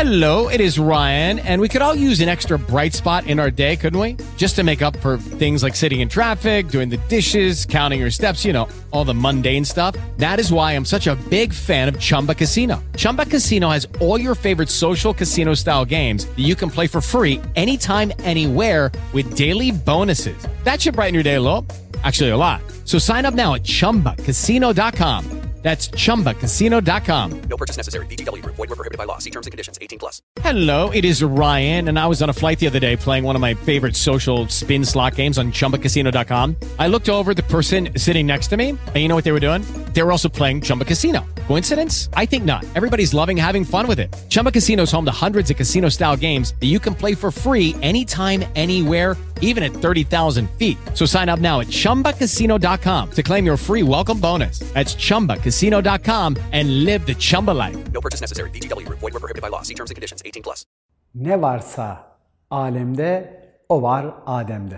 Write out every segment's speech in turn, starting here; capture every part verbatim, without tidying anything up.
Hello, it is Ryan, and we could all use an extra bright spot in our day, couldn't we? Just to make up for things like sitting in traffic, doing the dishes, counting your steps, you know, all the mundane stuff. That is why I'm such a big fan of Chumba Casino. Chumba Casino has all your favorite social casino-style games that you can play for free anytime, anywhere with daily bonuses. That should brighten your day a little. Actually, a lot. So sign up now at chumba casino dot com. That's chumba casino dot com. No purchase necessary. V G W Group. Void where prohibited by law. See terms and conditions. eighteen plus. Hello, it is Ryan, and I was on a flight the other day playing one of my favorite social spin slot games on chumba casino dot com. I looked over at the person sitting next to me, and you know what they were doing? They were also playing Chumba Casino. Coincidence? I think not. Everybody's loving having fun with it. Chumba Casino is home to hundreds of casino-style games that you can play for free anytime, anywhere, even at thirty thousand feet. So sign up now at chumba casino dot com to claim your free welcome bonus. That's chumba casino dot com and live the Chumba life. No purchase necessary. V G W Group. Void where prohibited by law. See terms and conditions. eighteen plus. Ne varsa alemde, o var Adem'de.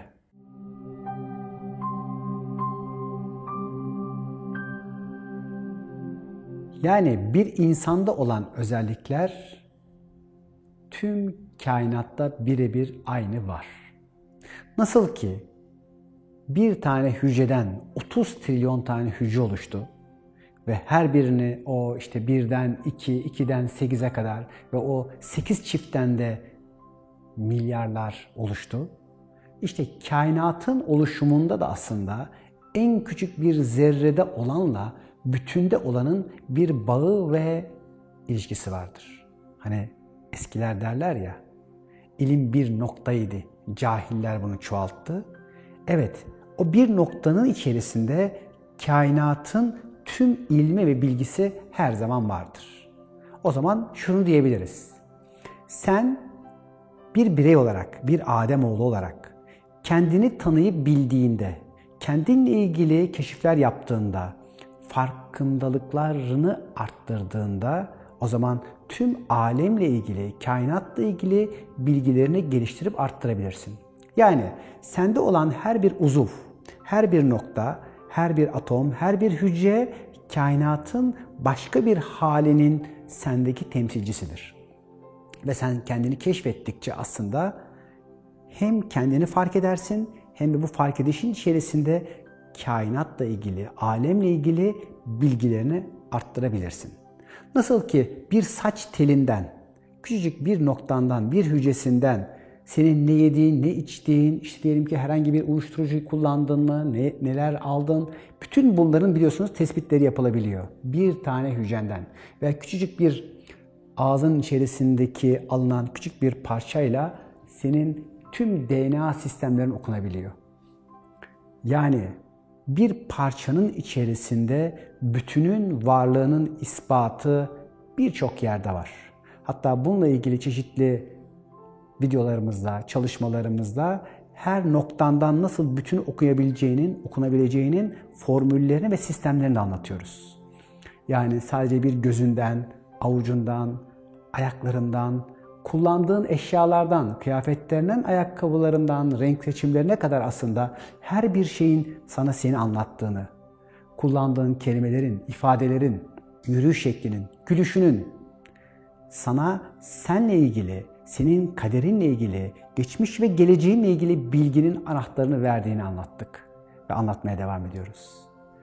Yani bir insanda olan özellikler tüm kainatta birebir aynı var. Nasıl ki bir tane hücreden otuz trilyon tane hücre oluştu ve her birini o işte birden iki, ikiden sekize kadar ve o sekiz çiftten de milyarlar oluştu. İşte kainatın oluşumunda da aslında en küçük bir zerrede olanla bütünde olanın bir bağı ve ilişkisi vardır. Hani eskiler derler ya, ilim bir noktaydı, cahiller bunu çoğalttı. Evet, o bir noktanın içerisinde kainatın tüm ilmi ve bilgisi her zaman vardır. O zaman şunu diyebiliriz. Sen bir birey olarak, bir Ademoğlu olarak kendini tanıyıp bildiğinde, kendinle ilgili keşifler yaptığında, farkındalıklarını arttırdığında o zaman tüm alemle ilgili, kainatla ilgili bilgilerini geliştirip arttırabilirsin. Yani sende olan her bir uzuv, her bir nokta, her bir atom, her bir hücre kainatın başka bir halinin sendeki temsilcisidir. Ve sen kendini keşfettikçe aslında hem kendini fark edersin hem de bu fark edişin içerisinde kainatla ilgili, alemle ilgili bilgilerini arttırabilirsin. Nasıl ki bir saç telinden, küçücük bir noktandan, bir hücresinden senin ne yediğin, ne içtiğin, işte diyelim ki herhangi bir uyuşturucu kullandın mı, ne, neler aldın, bütün bunların biliyorsunuz tespitleri yapılabiliyor. Bir tane hücrenden veya küçücük bir ağzın içerisindeki alınan küçük bir parçayla senin tüm D N A sistemlerin okunabiliyor. Yani bir parçanın içerisinde bütünün varlığının ispatı birçok yerde var. Hatta bununla ilgili çeşitli videolarımızda, çalışmalarımızda her noktandan nasıl bütünü okuyabileceğinin, okunabileceğinin formüllerini ve sistemlerini anlatıyoruz. Yani sadece bir gözünden, avucundan, ayaklarından, kullandığın eşyalardan, kıyafetlerinden, ayakkabılarından, renk seçimlerine kadar aslında her bir şeyin sana seni anlattığını, kullandığın kelimelerin, ifadelerin, yürüyüş şeklinin, gülüşünün sana seninle ilgili, senin kaderinle ilgili, geçmiş ve geleceğinle ilgili bilginin anahtarını verdiğini anlattık ve anlatmaya devam ediyoruz.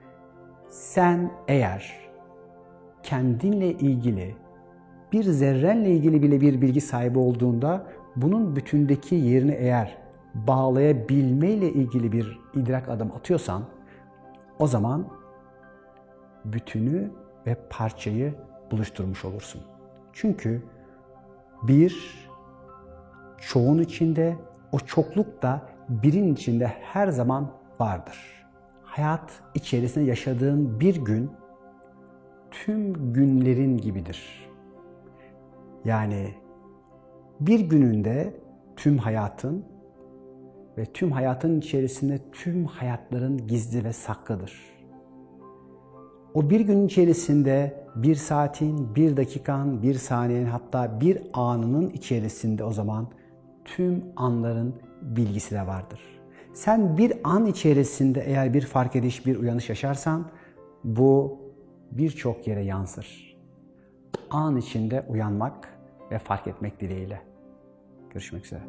Sen eğer kendinle ilgili, bir zerrenle ilgili bile bir bilgi sahibi olduğunda bunun bütündeki yerini eğer bağlayabilmeyle ilgili bir idrak adım atıyorsan o zaman bütünü ve parçayı buluşturmuş olursun. Çünkü bir çoğun içinde, o çokluk da birin içinde her zaman vardır. Hayat içerisinde yaşadığın bir gün tüm günlerin gibidir. Yani bir gününde tüm hayatın ve tüm hayatın içerisinde tüm hayatların gizli ve saklıdır. O bir gün içerisinde bir saatin, bir dakikan, bir saniyenin hatta bir anının içerisinde o zaman tüm anların bilgisi de vardır. Sen bir an içerisinde eğer bir fark ediş, bir uyanış yaşarsan bu birçok yere yansır. An içinde uyanmak ve fark etmek dileğiyle. Görüşmek üzere.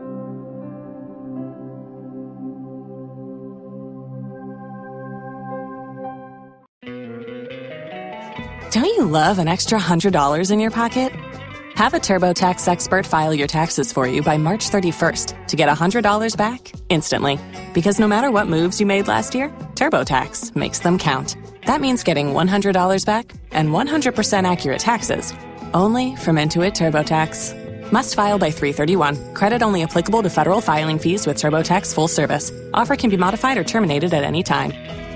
Don't you love an extra one hundred dollars in your pocket? Have a TurboTax expert file your taxes for you by March thirty-first to get one hundred dollars back instantly. Because no matter what moves you made last year, TurboTax makes them count. That means getting one hundred dollars back and one hundred percent accurate taxes, only from Intuit TurboTax. Must file by three thirty-one. Credit only applicable to federal filing fees with TurboTax full service. Offer can be modified or terminated at any time.